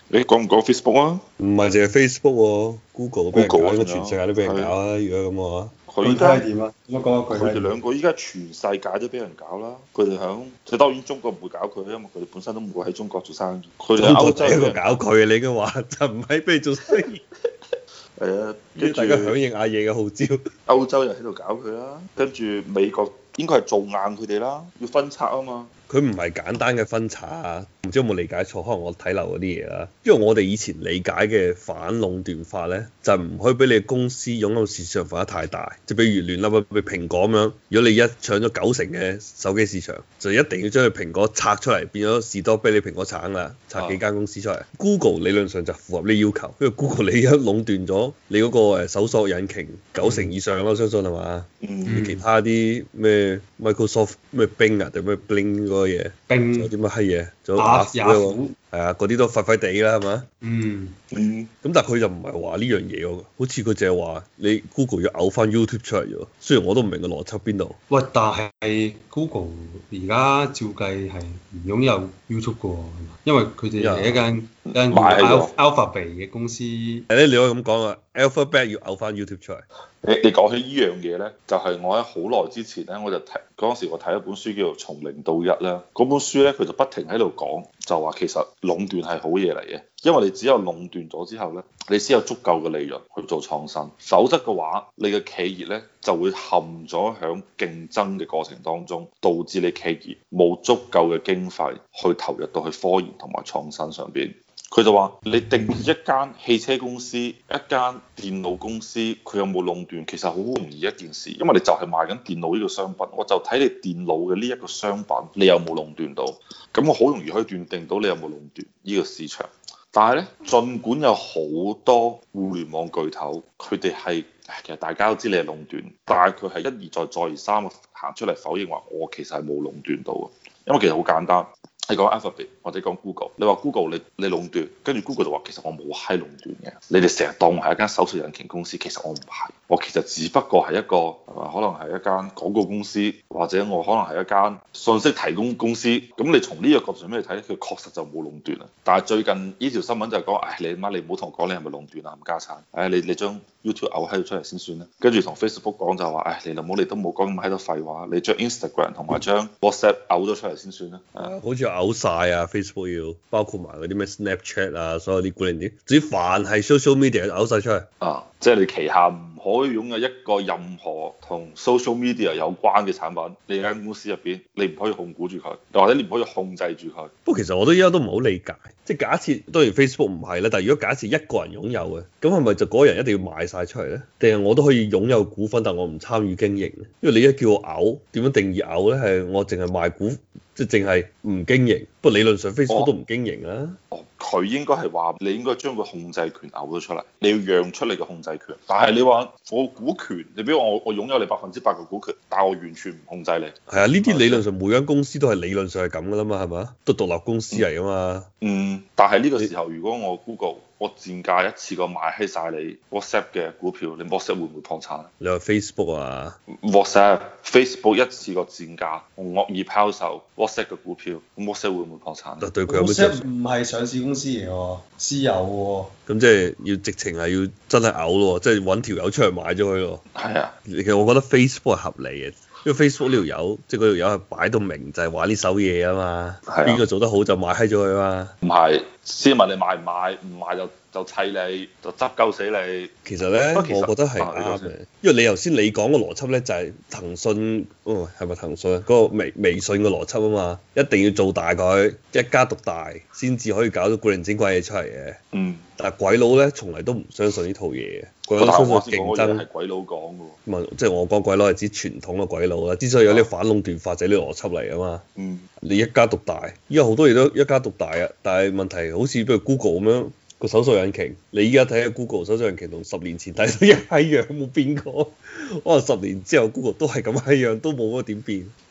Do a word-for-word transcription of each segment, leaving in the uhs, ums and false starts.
你講唔講 Facebook 啊唔係淨係 Facebook 喎，Google 都俾人搞， ？Google 啊， 應該全世界都俾人搞啊！如果咁嘅話， 具體佢依家係點啊？點樣講下具體係點？ 佢哋兩個依家全世界都俾人搞啦。佢哋響，即當然中國唔會搞佢，因為佢哋本身都唔會喺中國做生意。佢哋喺歐洲一個俾人搞佢啊！你應該話就唔係俾你做生意， 係啊，跟住大家響應阿爺嘅號召。 歐洲又喺度搞佢啦，跟住美國應該係做硬佢哋啦，要分拆啊嘛。 佢唔係簡單嘅分拆啊，唔知有冇理解錯，可能我睇漏嗰啲嘢啦。因為我哋以前理解嘅反壟斷法咧，就係唔可以俾你公司擁有市場份額太大。即係比如亂啦，譬如蘋果咁樣，如果你一搶咗九成嘅手機市場，就一定要將佢蘋果拆出嚟，變咗士多啤梨蘋果橙啦，拆幾間公司出嚟。啊、Google 理論上就符合呢要求，因為 Google 你一壟斷咗你嗰個誒搜索引擎九成以上咯，我相信係嘛？ 嗯， 其他啲咩 Microsoft 咩 Bing 啊定咩 Bling 嗰個嘢， 並仲有啲乜閪嘢，仲有雅雅虎喎， 雅虎， 係啊，嗰啲都廢廢地啦，係嘛？ 嗯， 嗯， 咁但係佢就唔係話呢樣嘢喎，好似佢淨係話你 Google 要嘔翻 YouTube 出嚟啫喎。雖然我都唔明個邏輯邊度。 喂，但係 Google 而家照計係唔擁有 YouTube 嘅喎，因為佢哋係一間一間叫買咗 Alphabet 嘅公司。 誒咧，你可以咁講啊，Alphabet 要嘔翻 YouTube 出嚟。 你你講起呢樣嘢咧，就係、是、我喺好耐之前咧，我就睇嗰陣時我睇一本書叫做《從零到一》啦。嗰本書咧，佢就不停喺度講，就話其實壟斷係好嘢嚟嘅，因為你只有壟斷咗之後咧，你先有足夠嘅利潤去做創新。否則嘅話，你嘅企業咧就會陷咗響競爭嘅過程當中，導致你企業冇足夠嘅經費去投入到去科研同埋創新上邊。佢就話：你定義一間汽車公司、一間電腦公司，佢有冇壟斷，其實好容易一件事，因為你就係賣緊電腦呢個商品，我就睇你電腦嘅呢一個商品，你有冇壟斷到，咁我好容易可以斷定到你有冇壟斷呢個市場。但係咧，儘管有好多互聯網巨頭，佢哋係其實大家都知你係壟斷，但係佢係一而再、再而三行出嚟否認話我其實係冇壟斷到嘅，因為其實好簡單。你講 Alphabet 或者講 Google，你話 Google 你你壟斷，跟住 Google 就話其實我冇閪壟斷嘅，你哋成日當我係一間搜索引擎公司，其實我唔係，我其實只不過係一個係嘛，可能係一間廣告公司，或者我可能係一間信息提供公司。咁你從呢個角度上面嚟睇，佢確實就冇壟斷啦。但係最近呢條新聞就係講，唉，你媽你唔好同我講你係咪壟斷啊，冚家產，唉，你你將 YouTube 嘔閪咗出嚟先算啦。跟住同 Facebook 講就話，唉，你老母你都冇講咁閪多廢話，你將 Instagram 同埋將 WhatsApp 嘔咗出嚟先算啦。 啊，好似嘔晒啊 Facebook 要，包括埋嗰啲咩 Snapchat 啊，所有啲古靈啲，總之凡係 social media 嘔晒出嚟。 啊，即係你旗下唔可以擁有一個任何同 social media 有關嘅產品，你間公司入邊你唔可以控股住佢，又或者你唔可以控制住佢。 不過其實我都依家都唔好理解，即係假設當然 Facebook 唔係啦，但係如果假設一個人擁有嘅，咁係咪就嗰個人一定要賣晒出嚟咧？定係我都可以擁有股份，但我唔參與經營咧？因為你一叫我嘔，點樣定義嘔咧？係我淨係賣股，即係淨係唔經營。不過理論上 Facebook 都唔經營啦。 哦，佢應該係話你應該將個控制權嘔咗出嚟，你要讓出你嘅控制權。但係你話我股權，你比如我我擁有你百分之百嘅股權，但係我完全唔控制你。 係啊，呢啲理論上每間公司都係理論上係咁噶啦嘛，係咪？都獨立公司嚟噶嘛。 嗯，但係呢個時候如果我 Google 我賤價一次過買閪晒你 WhatsApp 嘅股票，你 WhatsApp 會唔會破產？ 你話 Facebook 啊 WhatsApp、Facebook 一次過賤價，我惡意拋售 WhatsApp 嘅股票，咁 WhatsApp 會唔會破產？ 就對佢有咩？ WhatsApp 唔係上市公司嚟喎，私有喎。 咁即係要直情係要真係嘔咯，即係揾條友出嚟買咗佢咯。 係啊， 其實我覺得 Facebook 係合理嘅，因為 Facebook 呢條友即係嗰條友係擺到明就係玩呢手嘢啊嘛。 係啊， 邊個做得好就買閪咗佢嘛。 唔係，先問你買唔買，唔買就就砌你，就執鳩死你。 其實咧， 其實我覺得係啊啱嘅，因為你頭先你講個邏輯咧就係騰訊，哦係咪騰訊啊？嗰個微微信嘅邏輯啊嘛，一定要做大佢，一家獨大，先至可以搞到古靈精怪嘢出嚟嘅。 嗯。 但係鬼佬咧，從嚟都唔相信呢套嘢嘅。鬼佬但係相信我先講競爭。 嘅嘢係鬼佬講嘅喎。 唔係，即係我講鬼佬係指傳統嘅鬼佬啦。之所以有呢個反壟斷法，就係呢個邏輯嚟啊嘛。 嗯。 你一家獨大，依家好多嘢都一家獨大啊。但係問題好似譬如 Google 咁樣個搜索引擎，你依家睇下 Google 搜索引擎同十年前睇到一閪樣，冇變過。可能十年之後 Google 都係咁閪樣，都冇乜點變。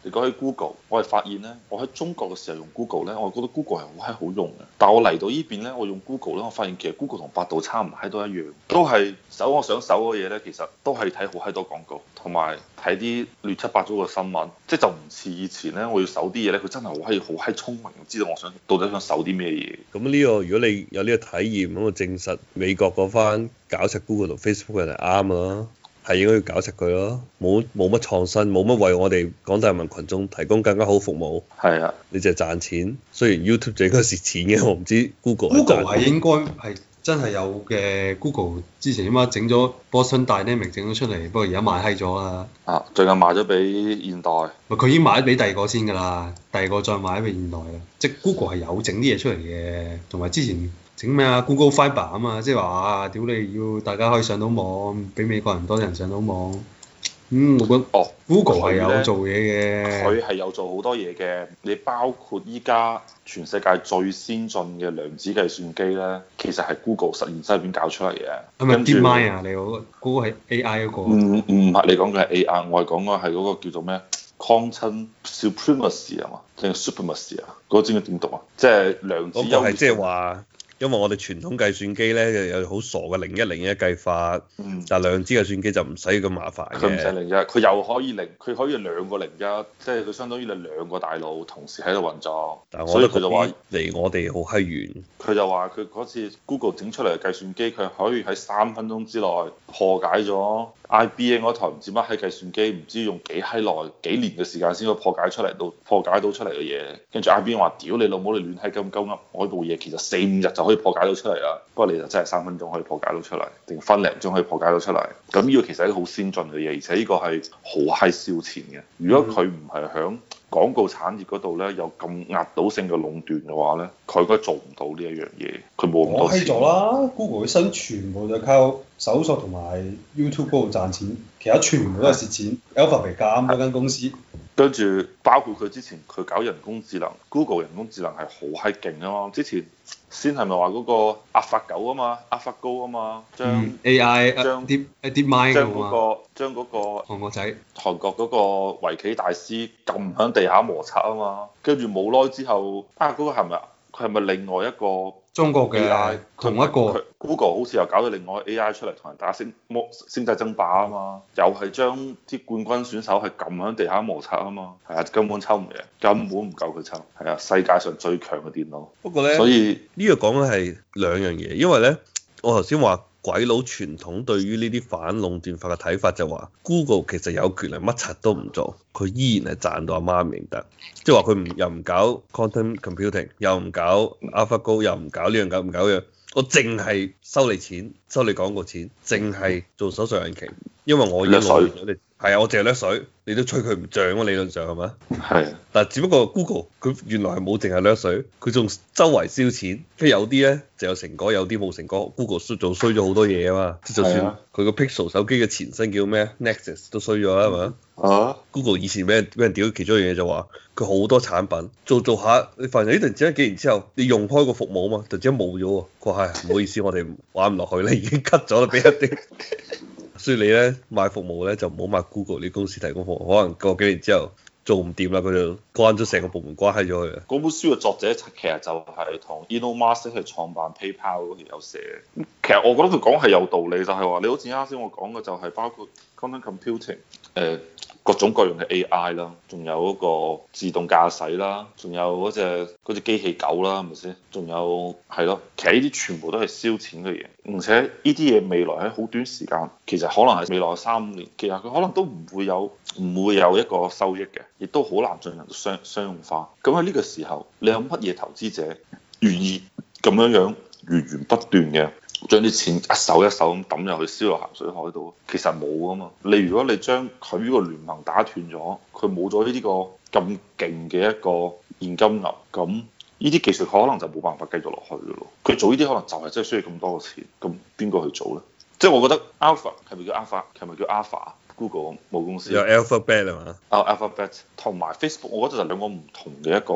你講起 Google，我係發現咧，我喺中國嘅時候用 Google 咧，我覺得 Google 係好閪好用嘅。但係我嚟到呢邊咧，我用 Google 咧，我發現其實 Google 同百度差唔閪都一樣，都係搜我想搜嘅嘢咧，其實都係睇好閪多廣告，同埋睇啲亂七八糟嘅新聞，即係就唔似以前咧，我要搜啲嘢咧，佢真係好閪好閪聰明，知道我想到底想搜啲咩嘢。 咁呢個如果你有呢個體驗，咁就證實美國嗰番搞柒 Google 同 Facebook 嘅係啱咯。係應該要搞實佢咯，冇冇乜創新，冇乜為我哋廣大人民群眾提供更加好服務。係啊，你就係賺錢。雖然 YouTube 就應該蝕錢嘅，我唔知 Google。 Google 係應該係真係有嘅。Google 之前起碼整咗 Boston Dynamics 整咗出嚟，不過而家賣閪咗啦。 啊，最近賣咗俾現代。 佢已經賣咗俾第二個先㗎啦，第二個再賣咗俾現代啦。即係 Google 係有整啲嘢出嚟嘅，同埋之前。整咩啊 ？Google Fiber 啊嘛，即係話啊，屌你要大家可以上到網，俾美國人多啲人上到網。嗯，我覺得哦，Google 係有做嘢嘅。 佢係有做好多嘢嘅，你包括依家全世界最先進嘅量子計算機咧，其實係 Google 實驗室入邊搞出嚟嘅。 係咪 DeepMind 啊？你嗰個嗰個係 A I 嗰個？ 唔唔係，你講嘅係 A I，我係講嘅係嗰個叫做咩？Quantum Supremacy 啊嘛，定係 Supremacy 啊？嗰個知唔知點讀啊？即係量子優越。 嗰個係即係話。因為我哋傳統計算機咧有好傻嘅零一零一計法，嗯、但係量子計算機就唔使咁麻煩嘅。 佢唔使零一，佢又可以零，佢可以兩個零一，即係佢相當於你兩個大腦同時喺度運作。 但係我覺得佢就話離我哋好閪遠。 佢就話佢嗰次 Google 整出嚟嘅計算機，佢可以喺三分鐘之內破解咗 I B M 嗰台唔知乜閪計算機，唔知用幾閪耐幾年嘅時間先可以破解出嚟到破解到出嚟嘅嘢。跟住 I B M 話：屌你老母，你亂閪咁鳩噏，我呢部嘢其實四五日就可以破解到出嚟啦。不過你就真係三分鐘可以破解到出嚟，定分零鐘可以破解到出嚟。咁呢個其實係一個好先進嘅嘢，而且呢個係好閪燒錢嘅。如果佢唔係響廣告產業嗰度咧有咁壓倒性嘅壟斷嘅話咧，佢應該做唔到呢一樣嘢。佢冇咁多錢。 我閪咗啦 ，Google 嘅新全部就靠搜索同埋 YouTube 嗰度賺錢，其他全部都係蝕錢。Alphabet 咁嗰間公司。 跟住包括佢之前佢搞人工智能 ，Google 人工智能係好閪勁啊嘛！之前先係咪話嗰個阿法狗啊嘛，阿法高啊嘛，將、嗯、 A I 將啲一啲 mind 將嗰個將嗰個韓國仔韓國嗰個圍棋大師撳喺地下摩擦啊嘛，跟住冇耐之後啊嗰、嗰個係咪佢係咪另外一個中國嘅 A I 同一個 Google 好似又搞咗另外 A I 出嚟同人打星魔星際爭霸啊嘛，又係將啲冠軍選手係撳喺地下摩擦啊嘛，係啊，根本抽唔贏，根本唔夠佢抽，係啊，世界上最強嘅電腦。 不過咧， 所以呢個講嘅係兩樣嘢，因為咧我頭先話鬼佬傳統對於呢啲反壟斷法嘅睇法就話 Google 其實有權力乜柒都唔做，佢依然係賺到阿媽唔認得，即係話佢唔又唔搞 quantum computing， 又唔搞 AlphaGo， 又唔搞呢樣搞唔搞樣，我淨係收你錢，收你廣告錢，淨係做搜索引擎，因為我已經攞完咗你，係啊，我淨係掠水，你都吹佢唔漲啊，理論上係咪？係的， 但係只不過 Google 佢原來係冇淨係掠水，佢仲周圍燒錢，跟住有啲咧就有成果，有啲冇成果。Google 衰做衰咗好多嘢啊嘛，即就算佢個 Pixel 手機嘅前身叫咩 Nexus 都衰咗啦，係咪啊？Google 以前俾人俾人屌，其中一樣嘢就話佢好多產品做做下，你發現呢突然之間幾年之後，你用開個服務啊嘛，突然之間冇咗喎。佢話係唔好意思，我哋玩唔落去啦，已經 cut 咗啦，俾一啲。所以你咧買服務咧就唔好買 Google 呢公司提供服務，可能過幾年之後做唔掂啦，佢就關咗成個部門關係咗佢。 嗰本書嘅作者其實就係同 Elon Musk 係創辦 PayPal 嗰條友寫嘅。其實我覺得佢講係有道理，就係話你好似啱先我講嘅就係包括 quantum computing，誒、呃、各種各樣嘅 A I 啦，仲有嗰個自動駕駛啦，仲有嗰隻嗰隻機器狗啦，係咪先？仲有係咯，其實呢啲全部都係燒錢嘅嘢，而且呢啲嘢未來喺好短時間，其實可能係未來三五年，其實佢可能都唔會有唔會有一個收益嘅，亦都好難進行商商用化。咁喺呢個時候，你有乜嘢投資者願意咁樣樣源源不斷嘅將啲錢一手一手咁抌入去燒落鹹水海度？其實冇啊嘛。你如果你將佢呢個聯盟打斷咗，佢冇咗呢個咁勁嘅一個現金流，咁呢啲技術可能就冇辦法繼續落去嘅咯。佢做呢啲可能就係真係需要咁多嘅錢，咁邊個去做咧？即係我覺得 Alpha 係咪叫 Alpha？係咪叫 Alpha？Google 母公司有 Alphabet 啊嘛？ 啊 Alphabet 同埋 Facebook，我覺得就兩個唔同嘅一個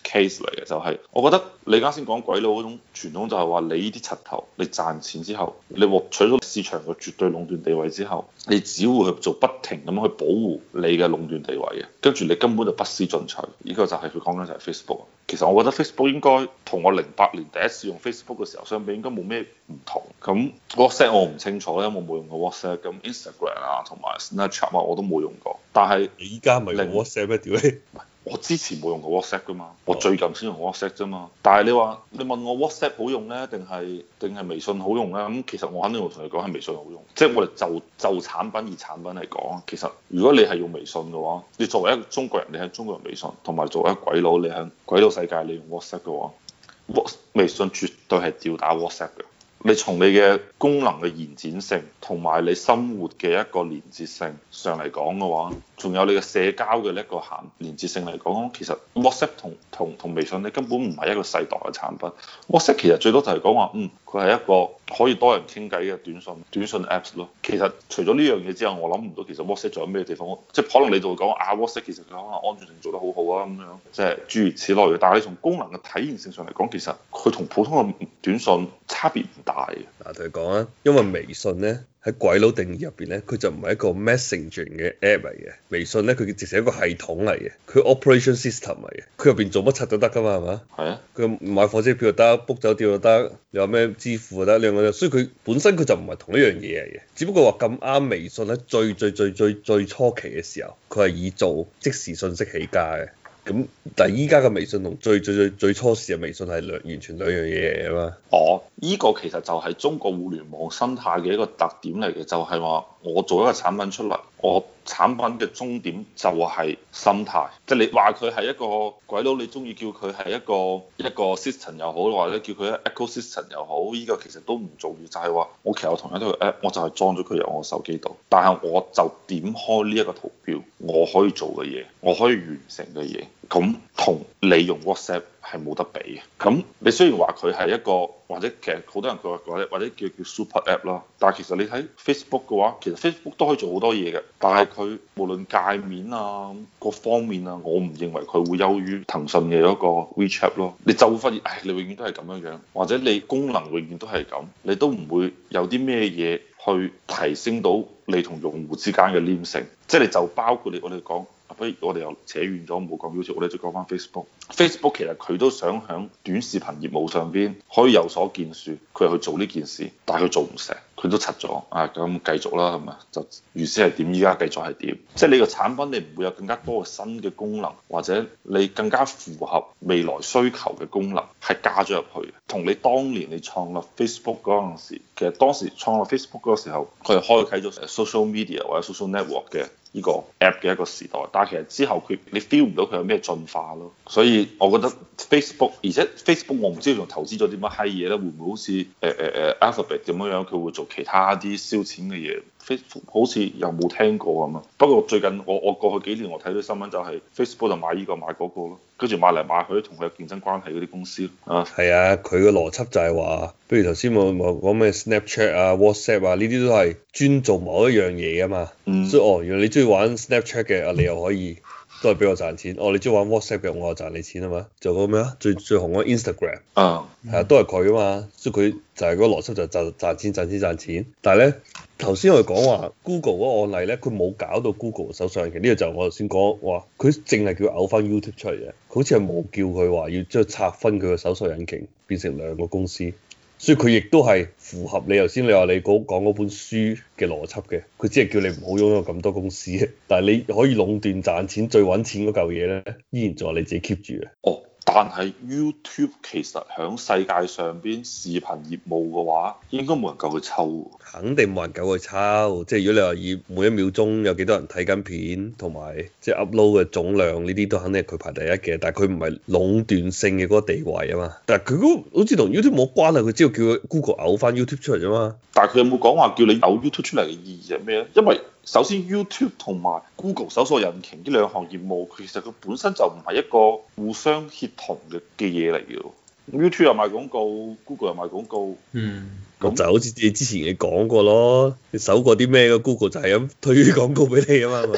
case 嚟嘅，就係、是、我覺得你啱先講鬼佬嗰種傳統就係話你呢啲柒頭，你賺錢之後，你獲取咗市場嘅絕對壟斷地位之後，你只會去做不停咁去保護你嘅壟斷地位嘅，跟住你根本就不思進取。呢、這個就係佢講緊就係 Facebook。其實我覺得 Facebook 應該同我零八年第一次用 Facebook 嘅時候相比，應該冇咩唔同。咁 WhatsApp 我唔清楚，因為我冇用過 WhatsApp。咁 Instagram 啊同埋 Snapchat 啊我都冇用過。但係你依家咪用 WhatsApp 咩？屌你！ 我之前冇用過 WhatsApp 噶嘛，我最近先用 WhatsApp 啫嘛。但係你話你問我 WhatsApp 好用咧，定係定係微信好用咧？咁其實我肯定會同你講係微信好用。即係我哋就就產品而產品嚟講，其實如果你係用微信嘅話，你作為一個中國人，你喺中國人微信，同埋作為一個鬼佬，你喺鬼佬世界你用 WhatsApp 嘅話，微信絕對係吊打 WhatsApp 嘅。你從你嘅功能嘅延展性同埋你生活嘅一個連接性上嚟講嘅話，仲有你嘅社交嘅一個銜連接性嚟講，其實 WhatsApp 同同同微信你根本唔係一個世代嘅產品。WhatsApp 其實最多就係講話，嗯，佢係一個可以多人傾偈嘅短信短信 Apps 咯。其實除咗呢樣嘢之後，我諗唔到其實 WhatsApp 仲有咩地方，即係可能你就會講啊 WhatsApp 其實佢可能安全性做得好好啊咁樣，即係諸如此類嘅。但係你從功能嘅體驗性上嚟講，其實佢同普通嘅短信差別唔大嘅。 嗱，同你講啊，因為微信咧喺鬼佬定義入邊咧，佢就唔係一個 messaging 嘅 app 嚟嘅。微信咧，佢直成一個系統嚟嘅，佢 operation system 嚟嘅，佢入邊做乜柒都得噶嘛，係嘛？係啊。佢買火車票就得，book 酒店就得，你話咩支付就得，兩個，所以佢本身佢就唔係同一樣嘢嚟嘅。只不過話咁啱微信喺最最最最最初期嘅時候，佢係以做即時信息起家嘅。咁但係依家嘅微信同最最最最初時嘅微信係兩完全兩樣嘢嚟啊嘛。哦，依、這個其實就係中國互聯網生態嘅一個特點嚟嘅，就係、是、話我做一個產品出嚟，我產品嘅終點就係生態，即、就、係、是、你話佢係一個鬼佬，你中意叫佢係一個一個 system 又好，或者叫佢一 ecosystem 又好，依、這個其實都唔重要，就係、是、話我其實我同一個 app，我就係裝咗佢入我手機度，但係我就點開呢一個圖標，我可以做嘅嘢，我可以完成嘅嘢。咁同你用 WhatsApp 係冇得比嘅。咁你雖然話佢係一個，或者其實好多人佢話或者或者叫叫 super app 啦，但係其實你睇 Facebook 嘅話，其實 Facebook 都可以做好多嘢嘅。但係佢無論界面啊各方面啊，我唔認為佢會優於騰訊嘅嗰個 WeChat 咯。你就會發現，唉，你永遠都係咁樣樣，或者你功能永遠都係咁，你都唔會有啲咩嘢去提升到你同用戶之間嘅黏性。即係你就包括你我哋講。不如我哋又扯遠咗，冇講 YouTube，我哋就講翻 Facebook。Facebook 其實佢都想喺短視頻業務上邊可以有所建樹，佢去做呢件事，但係佢做唔成，佢都柒咗。啊，咁繼續啦，係咪？就原先係點，依家繼續係點？即係你個產品，你唔會有更加多嘅新嘅功能，或者你更加符合未來需求嘅功能係加咗入去。同你當年你創立 Facebook 嗰陣時，其實當時創立 Facebook 嗰個時候，佢係開啟咗 social media 或者 social network 嘅呢個 app 嘅一個時代，但係其實之後佢你 feel 唔到佢有咩進化咯，所以我覺得 Facebook， 而且 Facebook 我唔知佢仲投資咗啲乜閪嘢咧，會唔會好似誒誒誒 Alphabet 咁樣樣，佢會做其他啲燒錢嘅嘢？Facebook 好似又冇聽過咁啊！不過最近我我過去幾年我睇到新聞就係 Facebook 就買呢個買嗰個咯，跟住買嚟買去同佢有競爭關係嗰啲公司啊。係啊，佢個邏輯就係話，比如頭先我我講咩 Snapchat 啊、WhatsApp 啊，呢啲都係專做某一樣嘢啊嘛。嗯、所以哦，原來你中意玩 Snapchat 嘅啊，你又可以都係俾我賺錢。哦，你中意玩 WhatsApp 嘅，我又賺你錢啊嘛。就嗰個咩啊？最最紅嗰 Instagram 啊，係啊，都係佢啊嘛。所以佢就係嗰個邏輯就賺賺錢賺錢賺錢。但係咧。頭先我哋講話 Google 嗰個案例咧，佢冇搞到 Google 搜索引擎，呢個就我頭先講話，佢淨係叫嘔翻 YouTube 出嚟嘅，佢好似係冇叫佢話要將拆分佢個搜索引擎變成兩個公司，所以佢亦都係符合你頭先你話你講嗰本書嘅邏輯嘅，佢只係叫你唔好擁有咁多公司嘅，但係你可以壟斷賺錢最揾錢嗰嚿嘢咧，依然仲係你自己 keep 住嘅。哦。但係 YouTube 其實喺世界上邊視頻業務嘅話，應該冇人夠佢抽。肯定冇人夠佢抽，即係如果你話以每一秒鐘有幾多人睇緊片，同埋即係 upload 嘅總量呢啲都肯定係佢排第一嘅。但係佢唔係壟斷性嘅嗰個地位啊嘛。但係佢嗰個好似同 YouTube 冇關係，佢只係叫佢 Google 嘔翻 YouTube 出嚟啫嘛。但係佢有冇講話叫你嘔 YouTube 出嚟嘅意義係咩咧？因為首先 YouTube 同埋 Google 搜索引擎呢兩項業務，其實佢本身就唔係一個互相協同嘅嘅嘢嚟嘅。YouTube 又賣廣告 ，Google 又賣廣告。嗯，咁就好似你之前你講過咯，你搜過啲咩嘅 Google 就係咁推廣告俾你啊嘛，係嘛？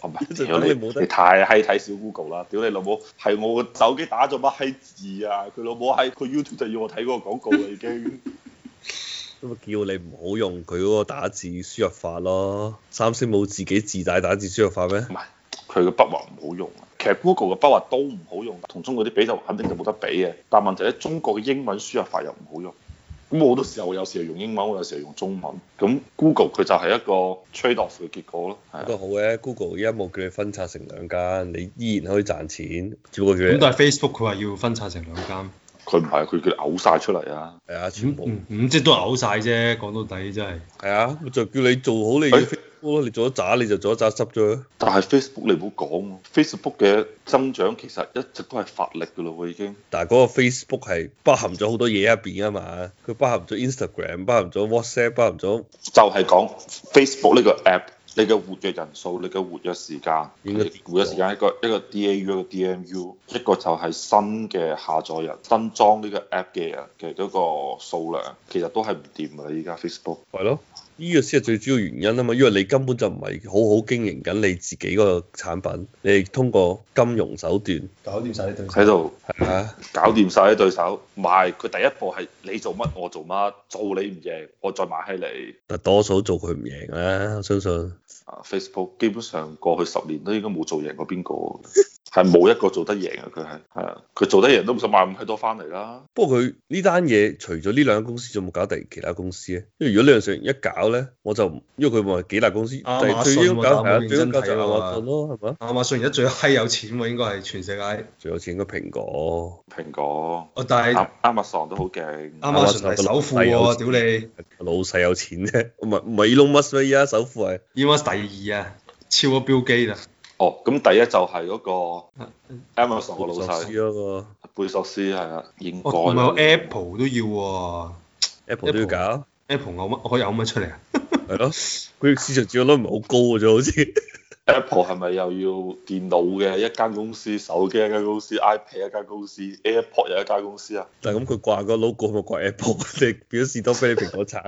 唔係， 就屌你等你冇得你太閪睇小 Google 啦！屌你老母，係我個手機打咗乜閪字啊！佢老母喺佢 YouTube 就要我睇嗰個廣告啦已經。 咁咪叫你唔好用佢嗰個打字輸入法咯。三星冇自己自帶打字輸入法咩？ 唔係，佢個筆畫唔好用啊。其實 Google 嘅筆畫都唔好用，同中國啲比就肯定就冇得比嘅。但問題咧，中國嘅英文輸入法又唔好用。咁我好多時候有時候用英文，我有時候用中文。咁 Google 佢就係一個 trade off 嘅結果咯。 都好嘅，Google 而家冇叫你分拆成兩間，你依然可以賺錢。只不過叫你咁但係 Facebook 佢話要分拆成兩間。 佢唔係，佢叫你嘔晒出嚟啊！ 係啊，全部。 咁咁即係都係嘔晒啫，講到底真係。 係啊，就叫你做好你嘅 Facebook 咯，你做咗渣你就做咗渣執咗。 但係 Facebook 你唔好講，Facebook 嘅增長其實一直都係乏力㗎咯喎已經。 但係嗰個 Facebook 係包含咗好多嘢入邊啊嘛，佢包含咗 Instagram，包含咗 WhatsApp，包含咗就係講 Facebook 呢個 app。你嘅活躍人數，你嘅活躍時間， 應該活躍時間一個一個 D A U 一個 D M U，一個就係新嘅下載人、新裝呢個 app 嘅人嘅嗰個數量，其實都係唔掂㗎啦！依家 Facebook 係咯，呢個先係最主要原因啊嘛，因為你根本就唔係好好經營緊你自己個產品，你係通過金融手段搞掂晒啲對手喺度係啊， 搞掂晒啲對手。唔係佢第一步係你做乜我做乜，做你唔贏，我再買起你。 但多數做佢唔贏啦，我相信。 啊 Facebook 基本上過去十年都應該冇做贏過邊個，係冇一個做得贏啊！佢係係啊，佢做得贏都唔使買咁閪多翻嚟啦。 不過佢呢單嘢除咗呢兩間公司，仲冇搞第其他公司咧？因為如果呢樣事一搞咧，我就因為佢話幾大公司， 亞馬遜但係最應該搞係啊， 我最應該搞就亞認真睇喎馬遜咯，係咪？ 亞馬遜而家最閪有錢喎，應該係全世界。 最有錢應該蘋果， 蘋果、 哦，但係亞亞馬遜都好勁。 亞馬遜係首富喎，屌你老細有錢啫，唔係唔係 Elon Musk 咩？而家首富係 ！Elon 第二啊，超咗 Bill Gates啦。 哦，咁第一就係嗰個 Amazon 個老索斯細嗰個貝索斯係啊，應該哦，同埋有啦。 Apple 都要喎。 Apple 都要搞， Apple 有乜可以有乜出嚟啊？ 係咯，佢市場佔有率唔係好高嘅啫，好似。 Apple 係咪又要電腦嘅一間公司，手機一間公司，iPad 一間公司，AirPod 又一間公司啊？ 但係咁佢掛個 logo 咪掛 Apple，你表示多俾你蘋果橙。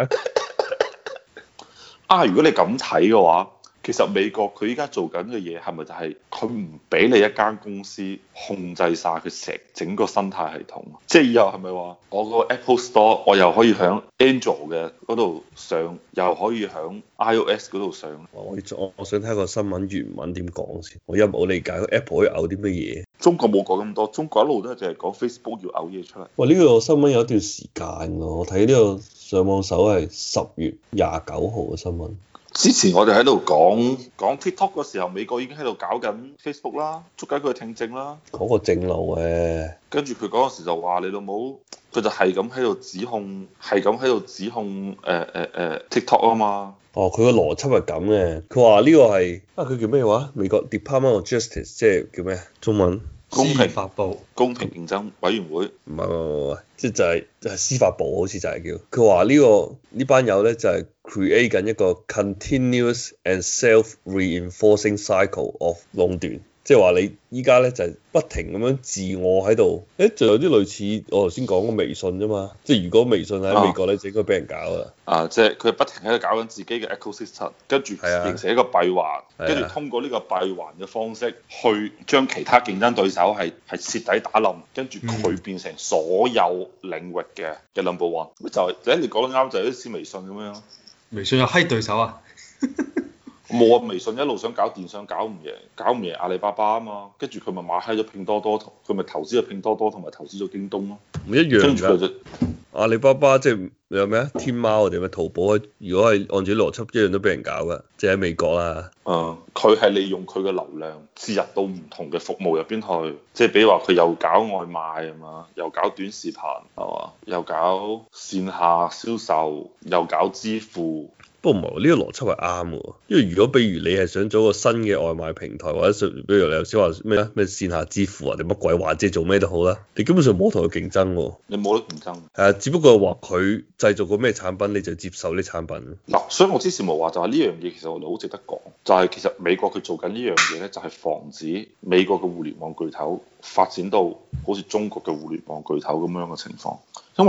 啊，如果你咁睇嘅話，其實美國佢依家做緊嘅嘢係咪就係佢唔俾你一間公司控制晒佢成整個生態系統？即係以後係咪話我個 Apple Store 我又可以響 Android 嘅嗰度上，又可以響 iOS 嗰度上？ 我我我想睇個新聞原文點講先，我一冇理解 Apple 可以嘔啲乜嘢。 中國冇講咁多，中國一路都係淨係講 Facebook 要嘔嘢出嚟。 喂，呢個新聞有一段時間㗎，我睇呢個上網搜係十月廿九號嘅新聞。 之前我哋喺度講講 TikTok 嗰時候，美國已經喺度搞緊 Facebook 啦，捉緊佢聽證啦。 嗰個正路嘅， 跟住佢嗰陣時就話你老母，佢就係咁喺度指控，係咁喺度指控誒誒誒 TikTok 啊嘛。 哦，佢個邏輯係咁嘅，佢話呢個係啊，佢叫咩話？美國 Department of Justice 即係叫咩？中文公平發布公平競爭委員會。 唔係唔係唔係，即係就係就係司法部好似就係叫。佢話呢個呢班友咧就係 create 緊一個 continuous and self-reinforcing cycle of 壟斷。即係話你依家咧就係不停咁樣自我喺度，誒就有啲類似我頭先講個微信啫嘛。即係如果微信喺美國咧，就應該俾人搞啦。 啊，即係佢不停喺度搞緊自己嘅 ecosystem，跟住形成一個閉環，跟住通過呢個閉環嘅方式去將其他競爭對手係係徹底打冧，跟住佢變成所有領域嘅嘅 number one。咁就係、是，你講得啱，就係好似微信咁樣。 微信有閪對手啊！ 冇啊！微信一路想搞電商，搞唔贏，搞唔贏阿里巴巴啊嘛，跟住佢咪買閪咗拼多多，佢咪投資咗拼多多同埋投資咗京東咯。 唔一樣跟住佢就阿里巴巴即係有咩啊？天貓定咩淘寶？如果係按照邏輯，一樣都俾人搞噶，即係喺美國啦。 誒，佢係利用佢嘅流量置入到唔同嘅服務入邊去，即係比如話佢又搞外賣啊嘛，又搞短視頻係嘛，又搞線下銷售，又搞支付。 不過唔係喎，呢個邏輯係啱嘅喎，因為如果比如你係想做一個新嘅外賣平台，或者比如你頭先話咩啊咩線下支付啊定乜鬼話，即係做咩都好啦，你基本上冇同佢競爭喎。 你冇得競爭。 係啊，只不過話佢製造個咩產品，你就接受啲產品。 嗱，所以我之前冇話就係呢樣嘢，其實我哋好值得講，就係其實美國佢做緊呢樣嘢咧，就係防止美國嘅互聯網巨頭發展到好似中國嘅互聯網巨頭咁樣嘅情況，因為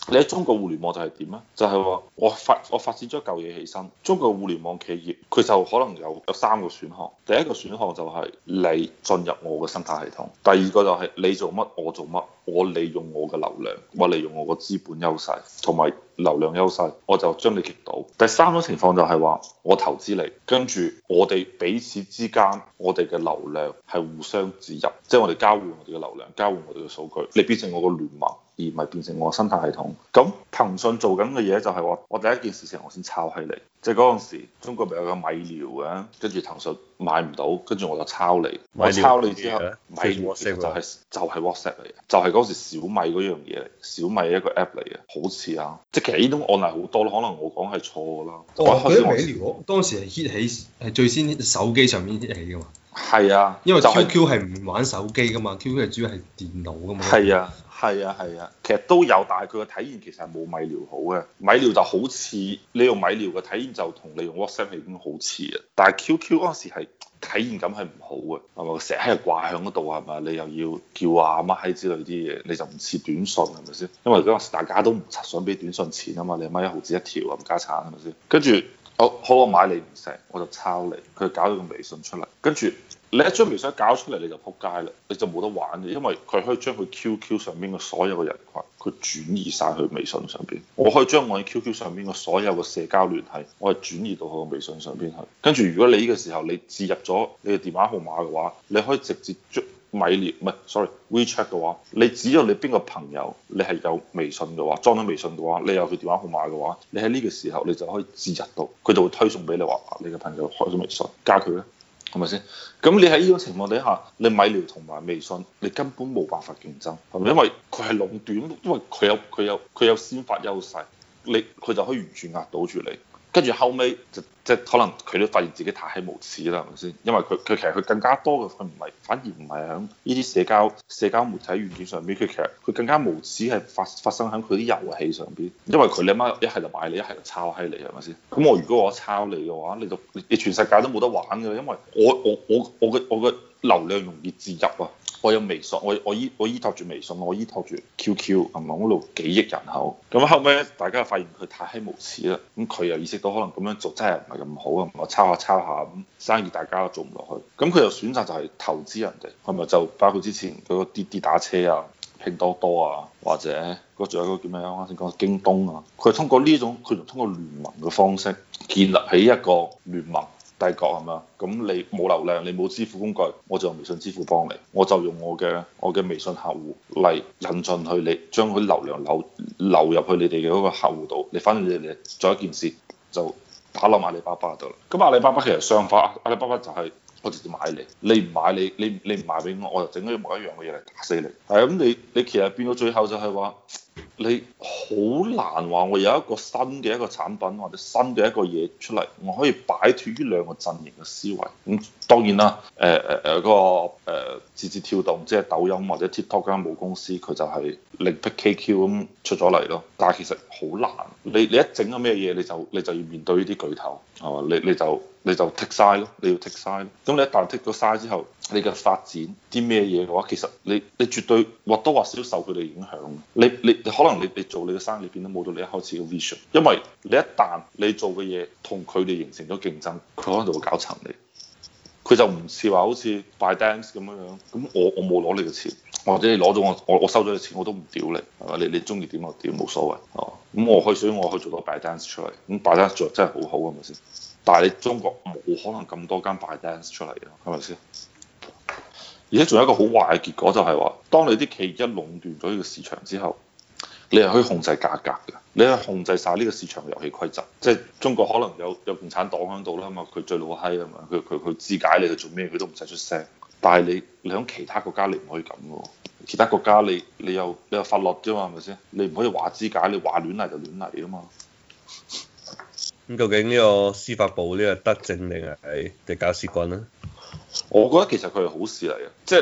你喺中國互聯網就係點啊？就係、是、話我發我發展咗嚿嘢起身，中國互聯網企業佢就可能有有三個選項。第一個選項就係你進入我嘅生態系統，第二個就係你做乜我做乜，我利用我嘅流量，我利用我個資本優勢同埋流量優勢，我就將你擊倒。第三種情況就係話我投資你，跟住我哋彼此之間我哋嘅流量係互相植入，即係我哋交換我哋嘅流量，交換我哋嘅數據，你變成我個聯盟，而唔係變成我嘅生態系統。咁騰訊做緊嘅嘢就係話，我第一件事情我先抄起你，即係嗰陣時中國咪有個米聊嘅，跟住騰訊買唔到，跟住我就抄你，我抄你之後，米聊其實就係、是、就係、是、WhatsApp 嚟嘅，就係、是、嗰時小米嗰樣嘢嚟，小米一個 app 嚟嘅，好似啊，即係其實呢種案例好多咯，可能我講係錯㗎啦。 哦，嗰啲米聊當時係 hit 起，係最先手機上面 hit 起㗎嘛。 係啊， 因為 Q Q 係唔玩手機㗎嘛，Q Q 係主要係電腦㗎嘛。 係啊。係啊係啊，其實都有，但係佢嘅體驗其實係冇米聊好嘅。米聊就好似你用米聊嘅體驗就同你用 WhatsApp 係已經好似啊，但係 Q Q 嗰陣時係體驗感係唔好嘅，係咪？成日喺度掛喺嗰度係咪？你又要叫啊乜閪之類啲嘢，你就唔似短信係咪先？因為嗰陣時大家都唔想俾短信錢啊嘛，你阿媽一毫子一條啊，唔加產係咪先？跟住好好我買你唔成，我就抄你，佢搞咗個微信出嚟，跟住。你一將微信搞出嚟你就撲街啦，你就冇得玩嘅，因為佢可以將佢 Q Q 上邊嘅所有嘅人群，佢轉移晒去微信上邊。我可以將我喺 Q Q 上邊嘅所有嘅社交聯繫，我係轉移到我微信上邊去。跟住如果你呢個時候你置入咗你嘅電話號碼嘅話，你可以直接將米聊唔係，sorry WeChat 嘅話，你只要你邊個朋友你係有微信嘅話，裝咗微信嘅話，你有佢電話號碼嘅話，你喺呢個時候你就可以置入到，佢就會推送俾你話，你嘅朋友開咗微信，加佢咧。係咪先？咁你喺呢種情況底下，你米聊同埋微信，你根本冇辦法競爭，係咪？因為佢係壟斷，因為佢有佢有佢有先發優勢，你佢就可以完全壓倒住你。跟住後尾就即係可能佢都發現自己太無恥啦，係咪先？因為佢佢其實佢更加多嘅佢唔係，反而唔係喺呢啲社交社交媒體軟件上邊，佢其實佢更加無恥係發發生喺佢啲遊戲上邊。因為佢你媽一係就買你，一係就抄閪你，係咪先？咁我如果我抄你嘅話，你就你全世界都冇得玩㗎，因為我我我我嘅我嘅流量容易置入啊！我有微信，我我依我依託住微信，我依託住 Q Q，係咪嗰度幾億人口？咁後尾大家發現佢太無恥啦，咁佢又意識到可能咁樣做真係唔係咁好啊，我抄下抄下咁生意大家都做唔落去，咁佢又選擇就係投資人哋，係咪就包括之前嗰個滴滴打車啊、拼多多啊，或者嗰仲有嗰個叫咩啊？啱先講京東啊，佢係通過呢種佢就通過聯盟嘅方式建立起一個聯盟。帝國係嘛？咁你冇流量，你冇支付工具，我就用微信支付幫你，我就用我嘅我嘅微信客戶嚟引進去你，將佢流量流流入去你哋嘅嗰個客戶度，你反正你哋做一件事就打落阿里巴巴度啦。咁阿里巴巴其實相反，阿里巴巴就係我直接買你，你唔買你你你唔賣俾我，我就整咗一模一樣嘅嘢嚟打死你。係咁，你你其實變到最後就係話。你好難話我有一個新嘅一個產品或者新嘅一個嘢出嚟，我可以擺脱呢兩個陣營嘅思維。咁、嗯、當然啦，誒誒誒嗰個誒、呃、字節跳動，即係抖音或者 TikTok 間母公司，佢就係另闢 K Q 咁出咗嚟咯。但係其實好難，你你一整咗咩嘢，你就你就要面對呢啲巨頭，係嘛？你你就你就剔晒咯，你要剔晒咯。咁你一旦剔咗晒之後，你嘅發展啲咩嘢嘅話，其實你你絕對或多或少受佢哋影響。你你你可能你你做你嘅生意，你變得冇到你一開始嘅 vision，因為你一旦你做嘅嘢同佢哋形成咗競爭，佢可能就會搞沉你。佢就唔似話好似 ByteDance 咁樣樣，咁我我冇攞你嘅錢，或者你攞咗我我我收咗你錢我都唔屌你，係嘛？你你中意點就點冇所謂，哦。咁我可以所以我可以做到 ByteDance 出嚟，咁 ByteDance 做真係好好，係咪先？但係你中國冇可能咁多間 ByteDance 出嚟嘅，係咪先？而且仲有一個好壞嘅結果就係話，當你啲企業一壟斷咗呢個市場之後，你係可以控制價格嘅，你係控制晒呢個市場嘅遊戲規則。即係中國可能有有共產黨喺度啦嘛，佢最老閪啊嘛，佢佢佢肢解你去做咩佢都唔使出聲。但係你你喺其他國家你唔可以咁嘅喎，其他國家你你有你有法律啫嘛，係咪先？你唔可以話肢解，你話亂嚟就亂嚟啊嘛。 咁究竟呢個司法部呢個德政定係定搞屎棍咧？ 我覺得其實佢係好事嚟嘅，即係你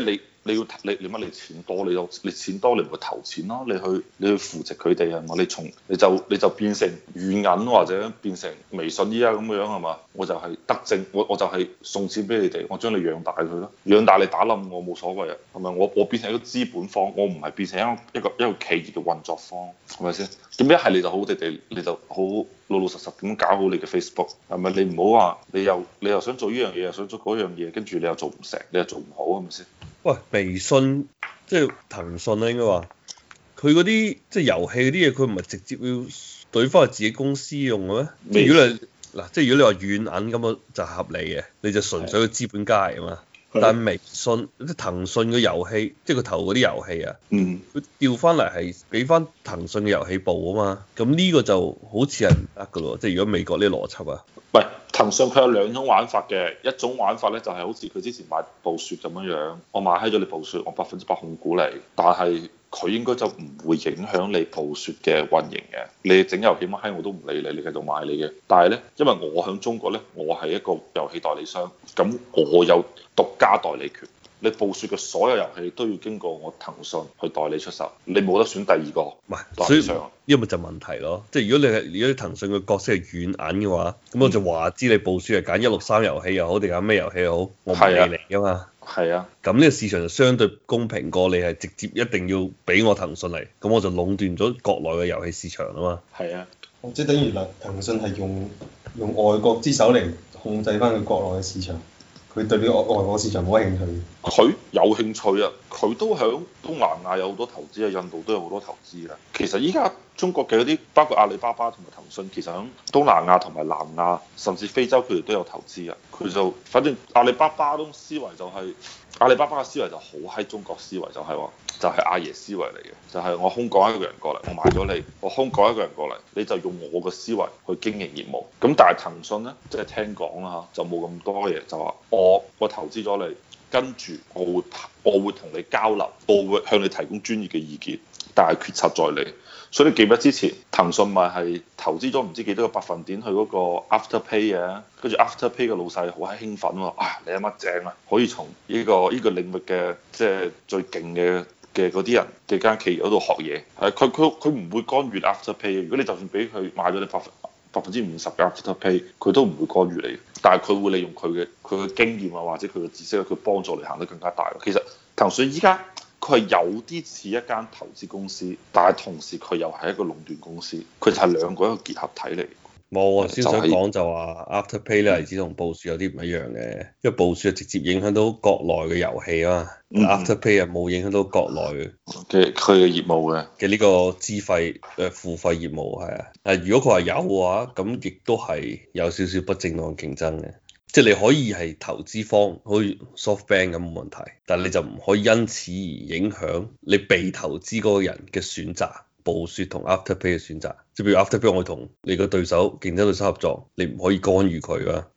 你要你你乜你錢多，你有你錢多你唔會投錢咯，你去你去扶持佢哋係嘛？你從你就你就變成軟銀或者變成微信依家咁樣係嘛？我就係德政，我我就係送錢俾你哋，我將你養大佢咯，養大你打冧我冇所謂啊，係咪？我我變成一個資本方，我唔係變成一個一個一個企業嘅運作方，係咪先？咁一係你就好地地，你就好老老實實咁搞好你嘅 Facebook，係咪？你唔好話你又你又想做呢樣嘢，又想做嗰樣嘢，跟住你又做唔成，你又做唔好，係咪先？ 喂，微信即係騰訊啦，應該話佢嗰啲即係遊戲嗰啲嘢，佢唔係直接要懟翻去自己公司用嘅咩？即係如果你嗱，即係如果你話軟銀咁啊，就合理嘅，你就純粹個資本家嚟啊嘛。但係微信即係騰訊嘅遊戲，即係佢投嗰啲遊戲啊， 嗯， 佢調翻嚟係俾翻騰訊嘅遊戲部啊嘛。咁呢個就好似係唔得㗎咯，即係如果美國呢啲邏輯啊。 喂，騰訊佢有兩種玩法嘅，一種玩法咧就係好似佢之前買暴雪咁樣樣，我買閪咗你暴雪，我百分之百控股你，但係佢應該就唔會影響你暴雪嘅運營嘅。你整遊戲乜閪我都唔理你，你繼續買你嘅。但係咧，因為我喺中國咧，我係一個遊戲代理商，咁我有獨家代理權。你暴雪嘅所有遊戲都要經過我騰訊去代理出售，你冇得選第二個。 唔係，所以呢個咪就問題咯。即係如果你係如果你騰訊嘅角色係軟銀嘅話，咁我就話知你暴雪係揀一六三遊戲又好定揀咩遊戲又好，我唔理你㗎嘛。 係啊。 咁呢個市場就相對公平過你係直接一定要俾我騰訊嚟，咁我就壟斷咗國內嘅遊戲市場啊嘛。 係啊。 即係等於嗱，騰訊係用用外國之手嚟控制翻佢國內嘅市場。佢對呢個外國市場冇興趣。 佢有興趣啊！佢都響東南亞有好多投資啊，印度都有好多投資啊。其實依家中國嘅嗰啲，包括阿里巴巴同埋騰訊，其實響東南亞同埋南亞，甚至非洲，佢哋都有投資啊。佢就反正阿里巴巴嗰種思維就係、是、阿里巴巴嘅思維就好喺中國思維，就係、是、話就係、是、阿爺思維嚟嘅，就係、是、我空降一個人過嚟，我買咗你，我空降一個人過嚟，你就用我嘅思維去經營業務。咁但係騰訊咧，即係聽講啦嚇，就冇咁多嘢，就話我我投資咗你。跟住我會我會同你交流，我會向你提供專業嘅意見，但係決策在你。所以你記唔記得之前騰訊咪係投資咗唔知幾多個百分點去嗰個 Afterpay 嘅，跟住 Afterpay 嘅老細好閪興奮喎，啊你阿乜正啊，可以從呢個呢個領域嘅即係最勁嘅嘅嗰啲人嘅間企業嗰度學嘢。係佢佢佢唔會干預 Afterpay 嘅，如果你就算俾佢買咗你百分百分之五十嘅 Afterpay，佢都唔會干預你。但係佢會利用佢嘅佢嘅經驗啊，或者佢嘅知識，佢幫助你行得更加大。其實騰訊依家佢係有啲似一間投資公司，但係同時佢又係一個壟斷公司，佢就係兩個一個結合體嚟。 冇啊，先想講就話 Afterpay 咧，例子同暴雪有啲唔一樣嘅，因為暴雪直接影響到國內嘅遊戲啊嘛、嗯、，Afterpay 啊冇影響到國內嘅佢嘅業務嘅嘅呢個資費誒付費業務係啊。誒如果佢話有嘅話，咁亦都係有少少不正當競爭嘅，即係你可以係投資方，好似 SoftBank 咁冇問題，但係你就唔可以因此而影響你被投資嗰個人嘅選擇。暴雪同 Afterpay 嘅選擇，即係譬如 Afterpay 我同你個對手競爭對手合作，你唔可以干預佢啊。